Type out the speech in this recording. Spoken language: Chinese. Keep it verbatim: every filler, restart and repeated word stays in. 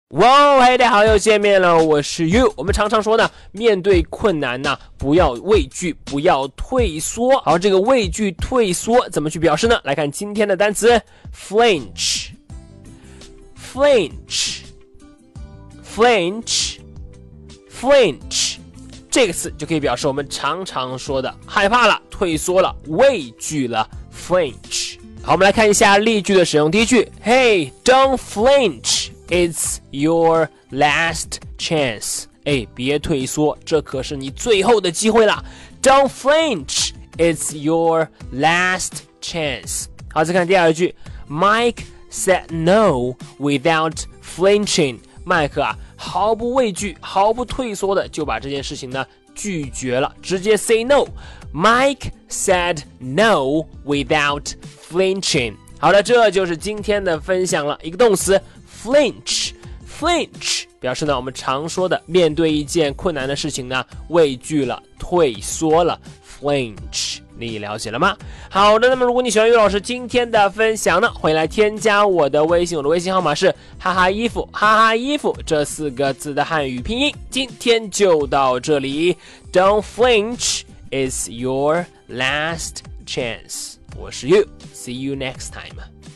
哇，嘿，大家好，又见面了，我是 You。我们常常说呢，面对困难呢，不要畏惧，不要退缩。好，这个畏惧、退缩怎么去表示呢？来看今天的单词 ，flinch，flinch，flinch，flinch，这个词就可以表示我们常常说的害怕了、退缩了、畏惧了 ，flinch。好，我们来看一下例句的使用。第一句 ，Hey, don't flinch。It's your last chance. 哎，别退缩，这可是你最后的机会啦 Don't flinch. It's your last chance. 好，再看第二句 Mike said no without flinching. 麦克啊，毫不畏惧，毫不退缩的就把这件事情呢拒绝了，直接 say no. Mike said no without flinching. 好的，这就是今天的分享了，一个动词Flinch, flinch 表示呢，我们常说的面对一件困难的事情呢，畏惧了、退缩了 ，flinch， 你了解了吗？好的，那么如果你喜欢于老师今天的分享呢，欢迎来添加我的微信，我的微信号码是哈哈衣服，哈哈衣服这四个字的汉语拼音。今天就到这里 ，Don't flinch, it's your last chance。我是 You, see you next time.